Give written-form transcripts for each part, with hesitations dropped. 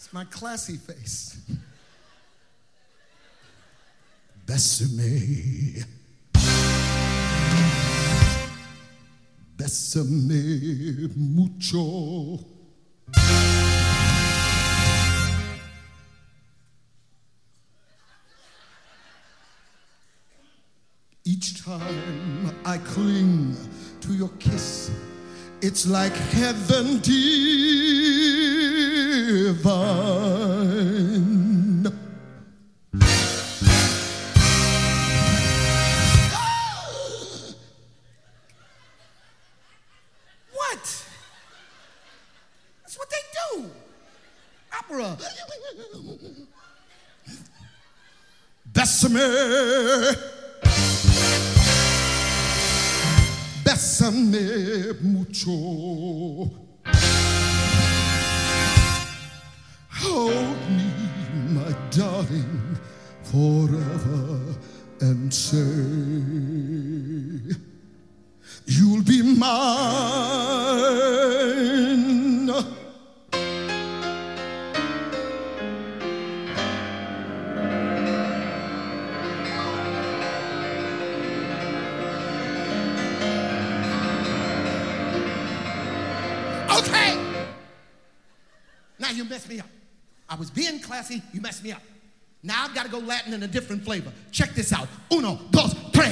It's my classy face. Bésame. Bésame mucho. Each time I cling to your kiss, it's like heaven divine. What? That's what they do. Opera. Bésame. Bésame mucho. Hold me, my darling, forever, and say you'll be mine. Okay. Now you messed me up. I was being classy, you messed me up. Now I've got to go Latin in a different flavor. Check this out. Uno, dos, tres.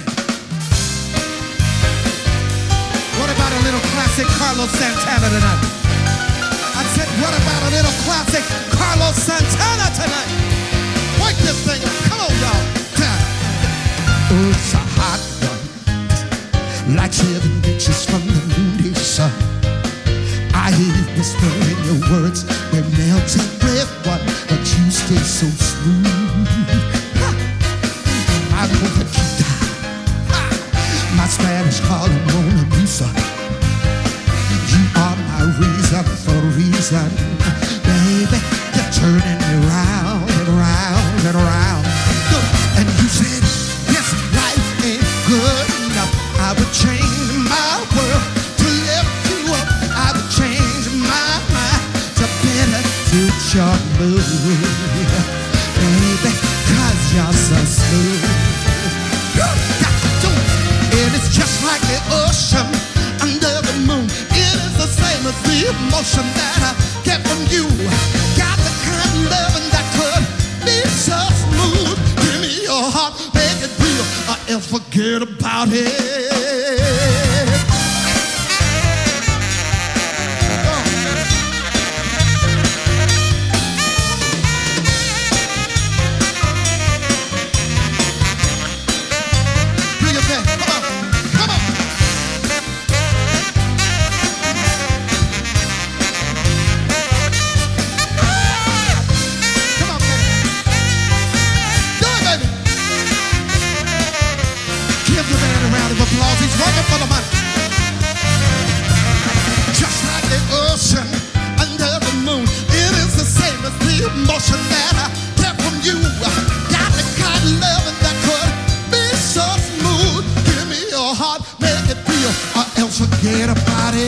What about a little classic Carlos Santana tonight? I said, what about a little classic Carlos Santana tonight? Wake this thing up. Come on, y'all. Oh, it's a hot one. Like 7 inches from the noonday sun. I hear you whispering your words, they're melting with one, but you stay so smooth. I know that you die. My Spanish call it Mona Lisa. You are my reason for reason. Baby, you're turning me round and round and round. And you said, this life ain't good enough. I would change my world to lift you up. I would change my mind to better suit your mood. Baby, 'cause you're so smooth. You got to do it. And it's just like the ocean under the moon. It is the same as the emotion that I get from you. Got the kind of loving that could be so smooth. Give me your heart, make it real, or else forget about it. Applause, he's working for the money. Just like the ocean under the moon, it is the same as the emotion that I get from you. Got the kind of loving that could be so smooth. Give me your heart, make it real, or else forget about it.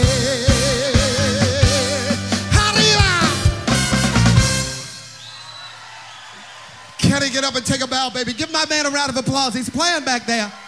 Arriba! Can he get up and take a bow, baby? Give my man a round of applause. He's playing back there.